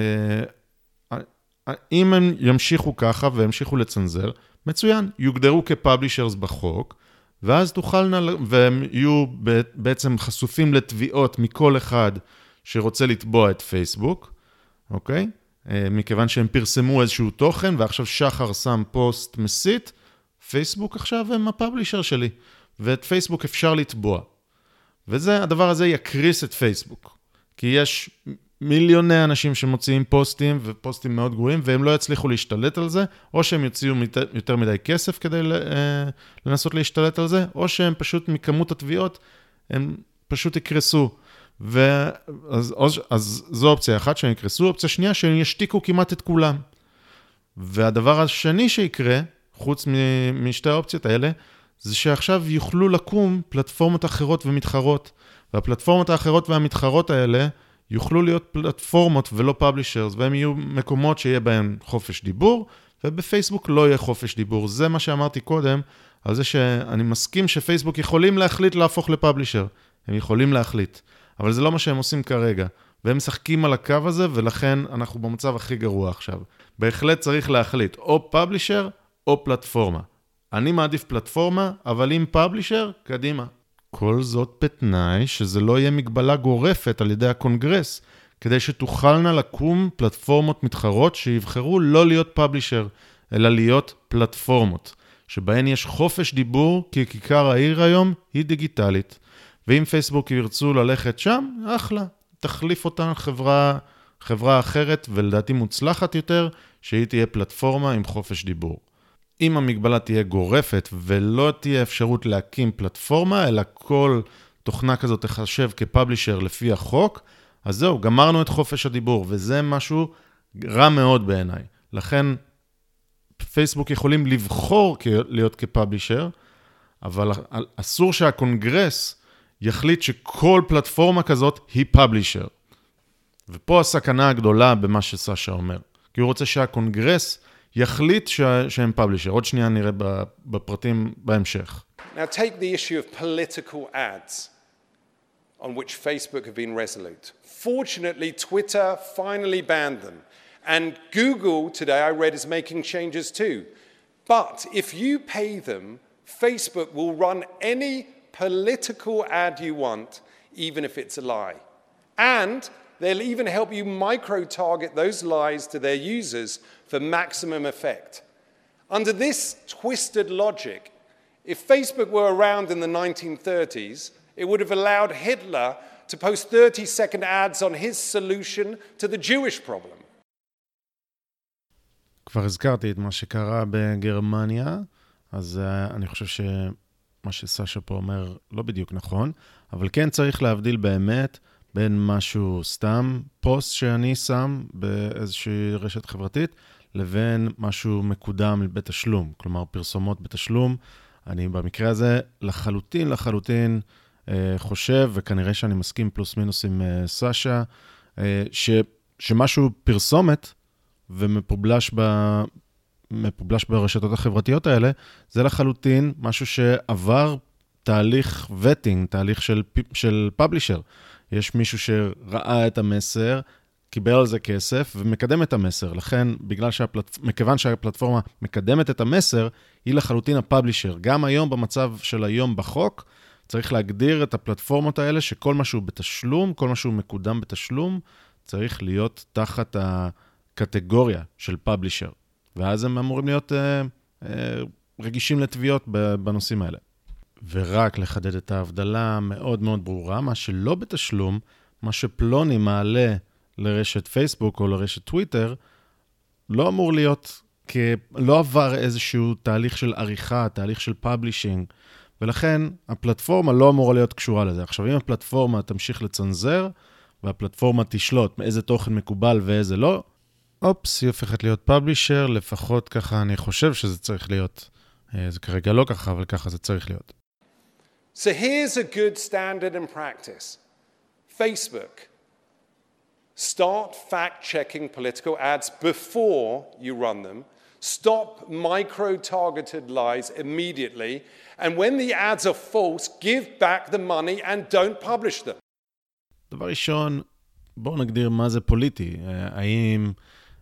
אם הם ימשיכו ככה וימשיכו לצנזר, מצוין, יוגדרו כפאבלישרס בחוק, ואז תוכלנה, והם יהיו בעצם חשופים לתביעות מכל אחד שרוצה לתבוע את פייסבוק, אוקיי? מכיוון שהם פרסמו איזשהו תוכן, ועכשיו שחר שם פוסט מסית, פייסבוק עכשיו הם הפאבלישר שלי, ואת פייסבוק אפשר לתבוע. וזה, הדבר הזה יקריס את פייסבוק, כי יש מיליוני אנשים שמוציאים פוסטים, ופוסטים מאוד גרועים, והם לא יצליחו להשתלט על זה, או שהם יוציאו יותר מדי כסף כדי לנסות להשתלט על זה, או שהם פשוט מכמות התביעות, הם פשוט יקרסו. ואז, אז זו אופציה אחת שהם יקרסו, אופציה שנייה שהם ישתיקו כמעט את כולם. והדבר השני שיקרה, חוץ משתי האופציות האלה, זה שעכשיו יוכלו לקום פלטפורמות אחרות ומתחרות, והפלטפורמות האחרות והמתחרות האלה יוכלו להיות פלטפורמות ולא פאבלישרס, והם יהיו מקומות שיהיה בהם חופש דיבור, ובפייסבוק לא יהיה חופש דיבור. זה מה שאמרתי קודם, על זה שאני מסכים שפייסבוק יכולים להחליט להפוך לפאבלישר. הם יכולים להחליט, אבל זה לא מה שהם עושים כרגע. והם משחקים על הקו הזה, ולכן אנחנו במצב הכי גרוע עכשיו. בהחלט צריך להחליט או פאבלישר או פלטפורמה. אני מעדיף פלטפורמה, אבל אם פאבלישר, קדימה. כל זאת בתנאי שזה לא יהיה מגבלה גורפת על ידי הקונגרס, כדי שתוכלנה לקום פלטפורמות מתחרות שיבחרו לא להיות פאבלישר, אלא להיות פלטפורמות, שבהן יש חופש דיבור, כי כיכר העיר היום היא דיגיטלית. ואם פייסבוק ירצו ללכת שם, אחלה. תחליף אותה חברה, חברה אחרת, ולדעתי מוצלחת יותר, שהיא תהיה פלטפורמה עם חופש דיבור. אם המגבלה תהיה גורפת ולא תהיה אפשרות להקים פלטפורמה, אלא כל תוכנה כזאת תחשב כפאבלישר לפי החוק, אז זהו, גמרנו את חופש הדיבור, וזה משהו רע מאוד בעיניי. לכן פייסבוק יכולים לבחור להיות כפאבלישר, אבל אסור שהקונגרס יחליט שכל פלטפורמה כזאת היא פאבלישר. ופה הסכנה הגדולה במה שסשה אומר. כי הוא רוצה שהקונגרס יחליט שהם פאבלישר. עוד שנייה נראה בפרטים בהמשך. Now take the issue of political ads on which Facebook have been resolute. Fortunately, Twitter finally banned them. And Google, today I read, is making changes too. But if you pay them, Facebook will run any political ad you want, even if it's a lie. And they'll even help you micro-target those lies to their users for maximum effect. Under this twisted logic, if Facebook were around in the nineteen thirties, it would have allowed Hitler to post thirty-second ads on his solution to the Jewish problem. כבר הזכרתי את מה שקרה בגרמניה, אז uh, אני חושב שמה שסשה פה אומר לא בדיוק נכון, אבל כן צריך להבדיל באמת בין משהו סתם, פוסט שאני שם באיזושהי רשת חברתית, לבין משהו מקודם בתשלום, כלומר פרסומות בתשלום. אני במקרה הזה לחלוטין, לחלוטין אה, חושב, וכנראה שאני מסכים פלוס מינוס עם אה, סשה, אה, ש, שמשהו פרסומת ומפובלש ב, מפובלש ברשתות החברתיות האלה, זה לחלוטין משהו שעבר תהליך וטינג, תהליך של, של פאבלישר. יש מישהו שראה את המסר, קיבל על זה כסף ומקדם את המסר. לכן, בגלל שהפלט... מכיוון שהפלטפורמה מקדמת את המסר, היא לחלוטין הפאבלישר. גם היום, במצב של היום בחוק, צריך להגדיר את הפלטפורמות האלה, שכל משהו בתשלום, כל משהו מקודם בתשלום, צריך להיות תחת הקטגוריה של פאבלישר. ואז הם אמורים להיות אה, אה, רגישים לתביעות בנושאים האלה. ורק לחדד את ההבדלה מאוד מאוד ברורה, מה שלא בתשלום, מה שפלוני מעלה לרשת פייסבוק או לרשת טוויטר, לא אמור להיות, לא עבר איזשהו תהליך של עריכה, תהליך של פאבלישינג, ולכן הפלטפורמה לא אמורה להיות קשורה לזה. עכשיו, אם הפלטפורמה תמשיך לצנזר, והפלטפורמה תשלוט מאיזה תוכן מקובל ואיזה לא, אופס, היא הופכת להיות פאבלישר, לפחות ככה אני חושב שזה צריך להיות. זה כרגע לא ככה, אבל ככה זה צריך להיות. So here's a good standard and practice. Facebook, start fact-checking political ads before you run them. Stop micro-targeted lies immediately. And when the ads are false, give back the money and don't publish them. דבר ראשון, בואו נגדיר מה זה פוליטי. האם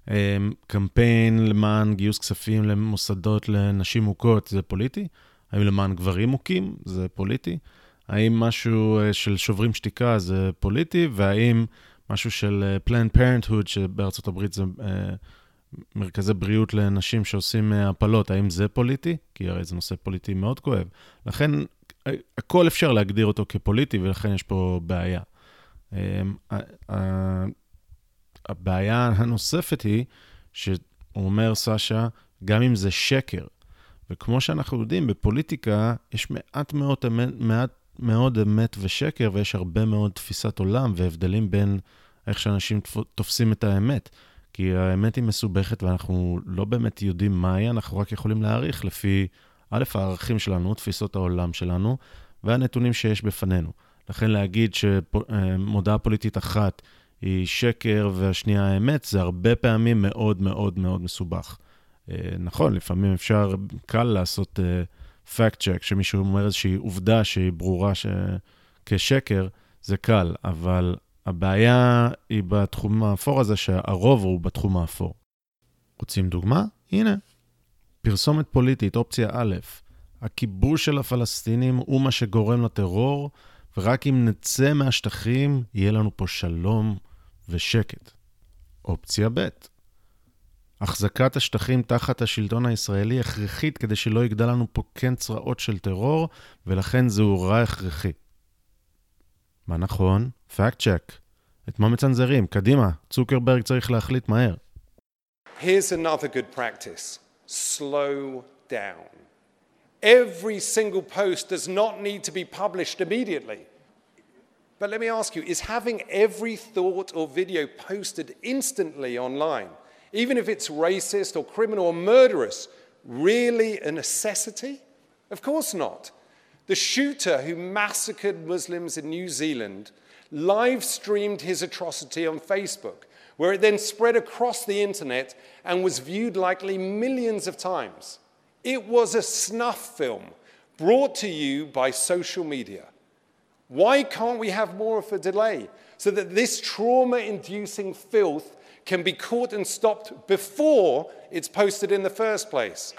קמפיין למען גיוס כספים למוסדות לנשים מוכות זה פוליטי? האם למען גברים מוכים זה פוליטי? האם משהו של שוברים שתיקה זה פוליטי? והאם משהו של Planned Parenthood שבארצות הברית זה מרכזי בריאות לנשים שעושים הפלות, האם זה פוליטי? כי הרי זה נושא פוליטי מאוד כואב. לכן, הכל אפשר להגדיר אותו כפוליטי, ולכן יש פה בעיה. הבעיה הנוספת היא, שהוא אומר סשה, גם אם זה שקר, וכמו שאנחנו יודעים, בפוליטיקה יש מעט מאוד, מעט מאוד אמת ושקר, ויש הרבה מאוד תפיסת עולם והבדלים בין איך שאנשים תופסים את האמת. כי האמת היא מסובכת ואנחנו לא באמת יודעים מה היא, אנחנו רק יכולים להעריך לפי א', הערכים שלנו, תפיסות העולם שלנו, והנתונים שיש בפנינו. לכן להגיד שמודעה פוליטית אחת היא שקר והשנייה האמת, זה הרבה פעמים מאוד מאוד מאוד מסובך. נכון, לפעמים אפשר קל לעשות fact check, שמישהו אומר איזושהי עובדה שהיא ברורה ש... כשקר, זה קל, אבל הבעיה היא בתחום האפור הזה, שהרוב הוא בתחום האפור. רוצים דוגמה? הנה. פרסומת פוליטית, אופציה א', הכיבוש של הפלסטינים הוא מה שגורם לטרור, ורק אם נצא מהשטחים, יהיה לנו פה שלום ושקט. אופציה ב', החזקת השטחים תחת השלטון הישראלי הכרחית כדי שלא יגדל לנו פה כן צרעות של טרור, ולכן זהו רע הכרחי. מה נכון? פאקט צ'ק. את מה מצנזרים? קדימה, צוקרברג צריך להחליט מהר. Here's another good practice. Slow down. Every single post does not need to be published immediately. But let me ask you, is having every thought or video posted instantly online, even if it's racist or criminal or murderous, really a necessity? Of course not. The shooter who massacred Muslims in New Zealand live-streamed his atrocity on Facebook, where it then spread across the internet and was viewed likely millions of times. It was a snuff film brought to you by social media. Why can't we have more of a delay so that this trauma-inducing filth can be caught and stopped before it's posted in the first place?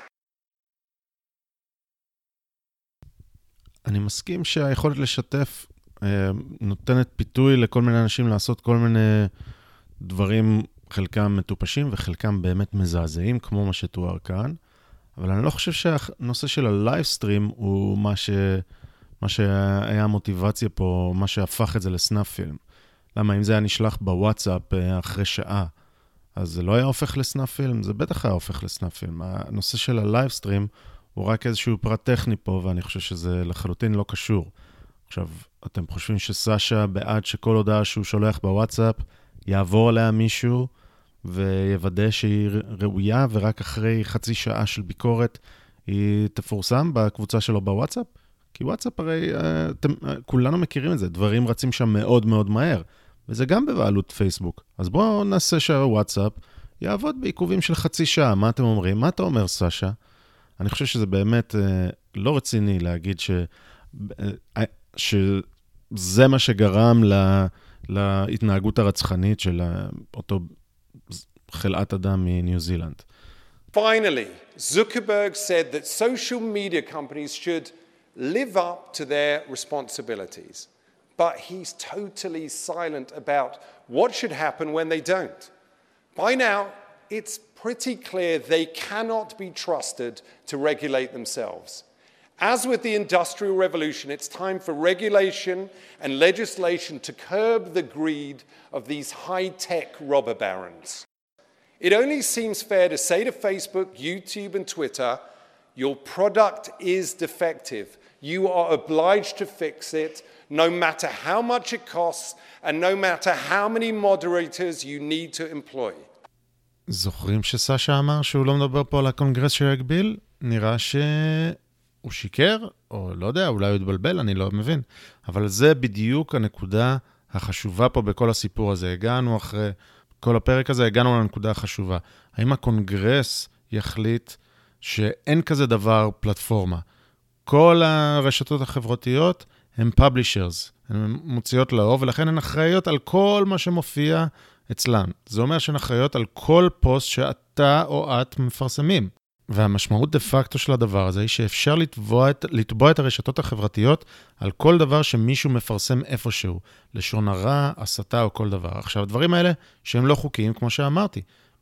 אני מסכים שהיכולת לשתף נותנת פיתוי לכל מיני אנשים לעשות כל מיני דברים, חלקם מטופשים וחלקם באמת מזעזעים, כמו מה שתואר כאן. אבל אני לא חושב שהנושא של הלייבסטרים הוא מה, ש... מה שהיה המוטיבציה פה, מה שהפך את זה לסנאפ פילם. למה אם זה היה נשלח בוואטסאפ אחרי שעה, אז זה לא היה הופך לסנאפ פילם, זה בטח היה הופך לסנאפ פילם. הנושא של הלייבסטרים הוא רק איזשהו פרט טכני פה, ואני חושב שזה לחלוטין לא קשור. עכשיו, אתם חושבים שסשה בעד שכל הודעה שהוא שולח בוואטסאפ, יעבור עליה מישהו, ויוודא שהיא ראויה, ורק אחרי חצי שעה של ביקורת, היא תפורסם בקבוצה שלו בוואטסאפ? כי וואטסאפ הרי, אתם, כולנו מכירים את זה, דברים רצים שם מאוד מאוד מהר, וזה גם בבעלות פייסבוק. אז בואו נעשה שהוואטסאפ יעבוד בעיכובים של חצי שעה. מה אתם אומרים? מה אתה אומר, סשה? אני חושב שזה באמת לא רציני להגיד ש... שזה מה שגרם לה... להתנהגות הרצחנית של אותו חלאת אדם מניו זילנד. Finally, Zuckerberg said that social media companies should live up to their responsibilities, but he's totally silent about what should happen when they don't. By now, it's pretty clear they cannot be trusted to regulate themselves. As with the Industrial Revolution, it's time for regulation and legislation to curb the greed of these high-tech robber barons. It only seems fair to say to Facebook, YouTube, and Twitter, your product is defective. You are obliged to fix it, no matter how much it costs, and no matter how many moderators you need to employ. זוכרים שסשה אמר שהוא לא מדבר פה על הקונגרס שיגביל? נראה ש... הוא שיקר, או לא יודע, אולי הוא התבלבל, אני לא מבין. אבל זה בדיוק הנקודה החשובה פה בכל הסיפור הזה. הגענו אחרי כל הפרק הזה, הגענו לנקודה החשובה. האם הקונגרס יחליט שאין כזה דבר פלטפורמה? כל הרשתות החברתיות הן publishers, הן מוציאות לאור, ולכן הן אחראיות על כל מה שמופיע אצלן. זה אומר שהן אחראיות על כל פוסט שאתה או את מפרסמים. והמשמעות דה פקטו של הדבר הזה היא שאפשר לתבוע את, לתבוע את הרשתות החברתיות על כל דבר שמישהו מפרסם איפשהו, לשון הרע, הסתה או כל דבר. עכשיו, הדברים האלה שהם לא חוקיים, כמו שאמרתי,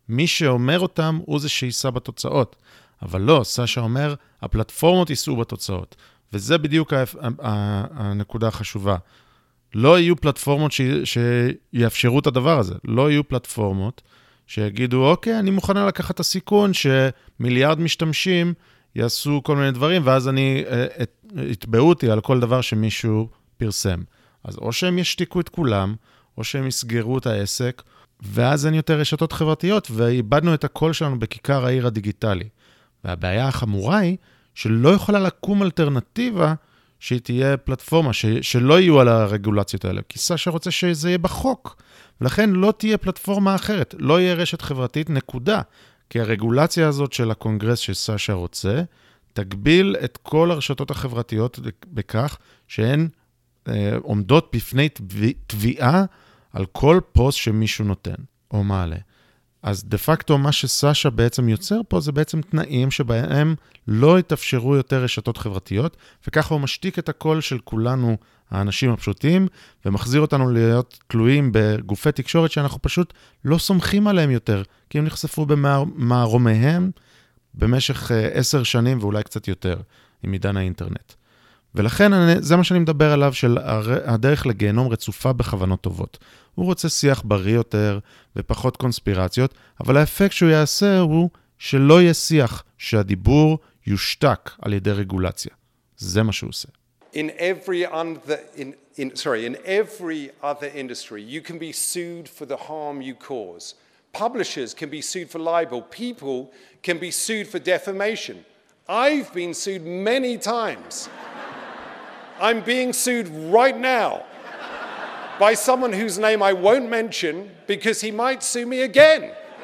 מי שאומר אותם הוא זה שיישא בתוצאות. אבל לא, סשה אומר, הפלטפורמות יישאו בתוצאות. וזה בדיוק הנקודה החשובה. לא יהיו פלטפורמות ש... שיאפשרו את הדבר הזה. לא יהיו פלטפורמות שיגידו, אוקיי, אני מוכנה לקחת את הסיכון שמיליארד משתמשים יעשו כל מיני דברים, ואז אני אתבעו אותי על כל דבר שמישהו פרסם. אז או שהם ישתיקו את כולם, או שהם יסגרו את העסק, ואז אין יותר רשתות חברתיות, ואיבדנו את הקול שלנו בכיכר העיר הדיגיטלי. והבעיה החמורה היא שלא יכולה לקום אלטרנטיבה שהיא תהיה פלטפורמה, ש... שלא יהיו על הרגולציות האלה, כי סשה רוצה שזה יהיה בחוק, ולכן לא תהיה פלטפורמה אחרת, לא יהיה רשת חברתית נקודה, כי הרגולציה הזאת של הקונגרס שסשה רוצה, תגביל את כל הרשתות החברתיות בכך שהן אה, עומדות בפני תביעה על כל פוסט שמישהו נותן או מעלה. אז דה פקטו מה שסשה בעצם יוצר פה זה בעצם תנאים שבהם לא יתאפשרו יותר רשתות חברתיות, וככה הוא משתיק את הקול של כולנו, האנשים הפשוטים, ומחזיר אותנו להיות תלויים בגופי תקשורת שאנחנו פשוט לא סומכים עליהם יותר, כי הם נחשפו במערומיהם במשך עשר שנים ואולי קצת יותר, עם עידן האינטרנט. ולכן אני, זה מה שאני מדבר עליו, של הדרך לגיהנום רצופה בכוונות טובות. הוא רוצה שיח בריא יותר ופחות קונספירציות, אבל האפקט שהוא יעשה הוא שלא יהיה שיח, שהדיבור יושתק על ידי רגולציה. זה מה שהוא עושה. In every other, in, in, sorry, in every other industry, you can be sued for the harm you cause. Publishers can be sued for libel. People can be sued for defamation. I've been sued many times. I'm being sued right now by someone whose name I won't mention because he might sue me again.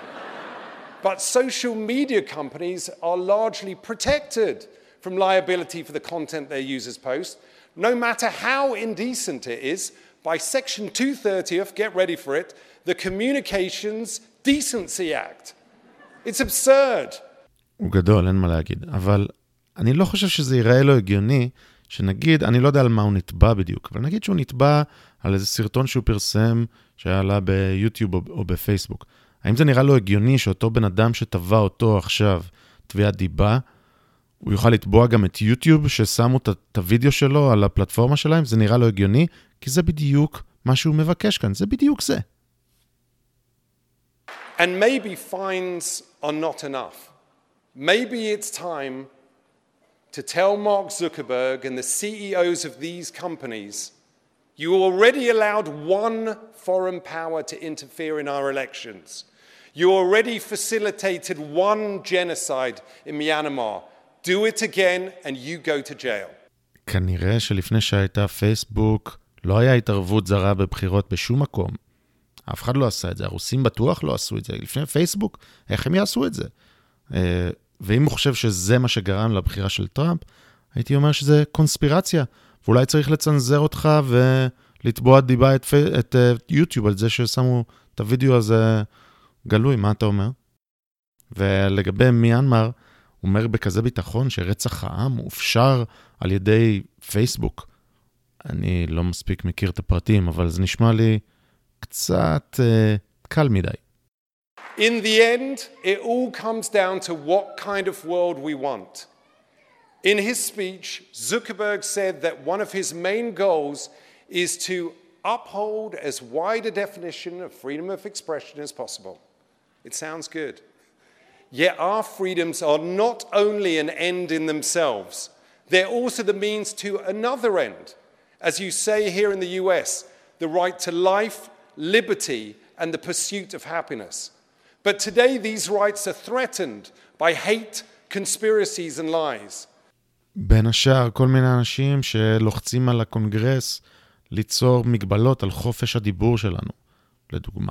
But social media companies are largely protected from liability for the content their users post, no matter how indecent it is, by Section two thirty of, get ready for it, the Communications Decency Act. It's absurd. הוא גדול, אין מה להגיד. אבל אני לא חושב שזה ייראה לו הגיוני, שנגיד, אני לא יודע על מה הוא נתבע בדיוק, אבל נגיד שהוא נתבע על איזה סרטון שהוא פרסם, שהיה לה ביוטיוב או, או בפייסבוק. האם זה נראה לו הגיוני שאותו בן אדם שטבע אותו עכשיו, תביעת דיבה, הוא יוכל לתבוע גם את יוטיוב, ששמו את הוידאו שלו על הפלטפורמה שלהם? זה נראה לו הגיוני, כי זה בדיוק מה שהוא מבקש כאן, זה בדיוק זה. And maybe fines are not enough. Maybe it's time to tell Mark Zuckerberg and the C E Os of these companies, you already allowed one foreign power to interfere in our elections. You already facilitated one genocide in Myanmar. Do it again and you go to jail. כנראה שלפני שהייתה פייסבוק, לא היה התערבות זרה בבחירות בשום מקום. אף אחד לא עשה את זה. הרוסים בטוח לא עשו את זה. לפני פייסבוק, איך הם יעשו את זה? ואם הוא חושב שזה מה שגרם לבחירה של טראמפ, הייתי אומר שזה קונספירציה. ואולי צריך לצנזר אותך ולתבוע דיבה את, את יוטיוב על זה ששמו את הוידאו הזה גלוי. מה אתה אומר? ולגבי מיאנמר, הוא אומר בכזה ביטחון שרצח העם הוא אפשר על ידי פייסבוק. אני לא מספיק מכיר את הפרטים, אבל זה נשמע לי קצת uh, קל מדי. In the end, it all comes down to what kind of world we want. In his speech, Zuckerberg said that one of his main goals is to uphold as wide a definition of freedom of expression as possible. It sounds good. Yet our freedoms are not only an end in themselves, they're also the means to another end. As you say here in the U S, the right to life, liberty, and the pursuit of happiness. But today these rights are threatened by hate, conspiracies, and lies. בין השאר, כל מיני אנשים שלוחצים על הקונגרס ליצור מגבלות על חופש הדיבור שלנו, לדוגמה.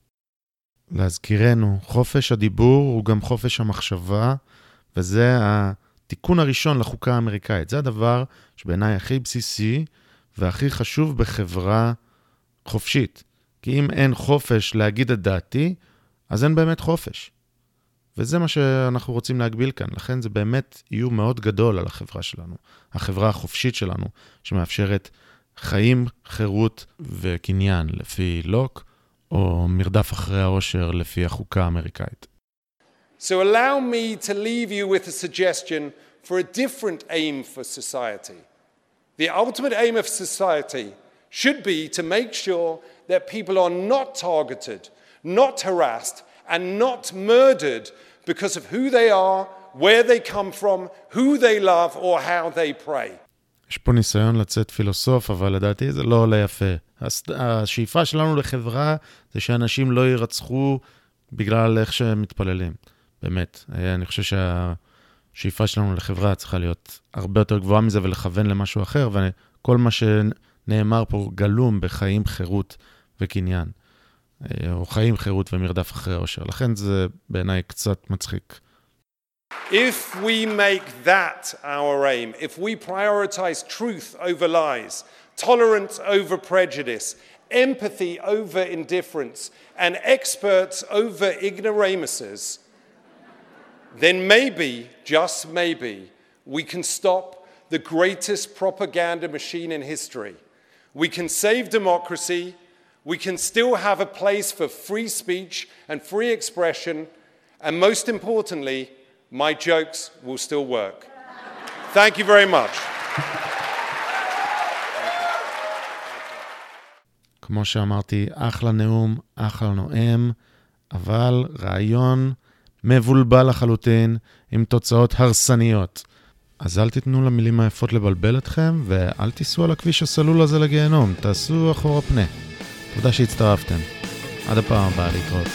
להזכירנו, חופש הדיבור הוא גם חופש המחשבה, וזה התיקון הראשון לחוקה האמריקאית. זה הדבר שבעיניי הכי בסיסי והכי חשוב בחברה חופשית. כי אם אין חופש להגיד את דעתי, אז אין באמת חופש. וזה מה שאנחנו רוצים להגביל כאן. לכן זה באמת איום מאוד גדול על החברה שלנו. החברה החופשית שלנו, שמאפשרת חיים, חירות וקניין לפי לוק, או מרדף אחרי האושר לפי החוקה האמריקאית. So allow me to leave you with a suggestion for a different aim for society. The ultimate aim of society should be to make sure that people are not targeted, not harassed, and not murdered because of who they are, where they come from, who they love, or how they pray. יש פה ניסיון לצאת פילוסוף, אבל לדעתי זה לא עולה יפה. השאיפה שלנו לחברה זה שאנשים לא יירצחו בגלל איך שהם מתפללים. באמת. אני חושב שהשאיפה שלנו לחברה צריכה להיות הרבה יותר גבוהה מזה ולכוון למשהו אחר, וכל מה שנאמר פה גלום בחיים, חירות וקניין. או חיים, חירות ומרדף אחרי האושר. לכן זה בעיניי קצת מצחיק. If we make that our aim, if we prioritize truth over lies, tolerance over prejudice, empathy over indifference, and experts over ignoramuses, then maybe, just maybe, we can stop the greatest propaganda machine in history. We can save democracy. We can still have a place for free speech and free expression. And most importantly, my jokes will still work. Thank you very much. כמו שאמרתי, אחלה נאום, אחלה נואם, אבל רעיון מבולבל לחלוטין עם תוצאות הרסניות. אז אל תיתנו למילים היפות לבלבל אתכם, ואל תיסעו על הכביש הסלול הזה לגיהנום, תעשו אחורה פנה. תודה שהצטרפתם. עד הפעם הבאה, להתראות.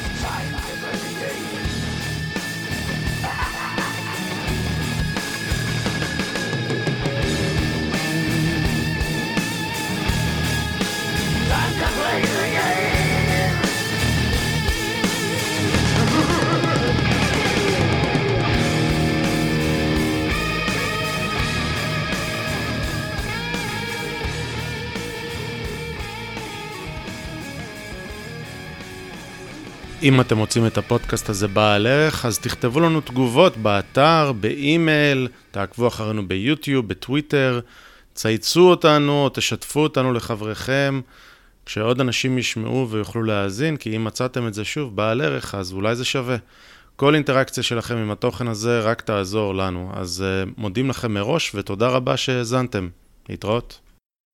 אם אתם רוצים את הפודקאסט הזה בעל ערך, אז תכתבו לנו תגובות באתר, באימייל, תעקבו אחרינו ביוטיוב, בטוויטר, צייצו אותנו, תשתפו אותנו לחבריכם, כשעוד אנשים ישמעו ויוכלו להאזין, כי אם מצאתם את זה שוב בעל ערך, אז אולי זה שווה. כל אינטראקציה שלכם עם התוכן הזה רק תעזור לנו, אז מודים לכם מראש ותודה רבה שהאזנתם. להתראות.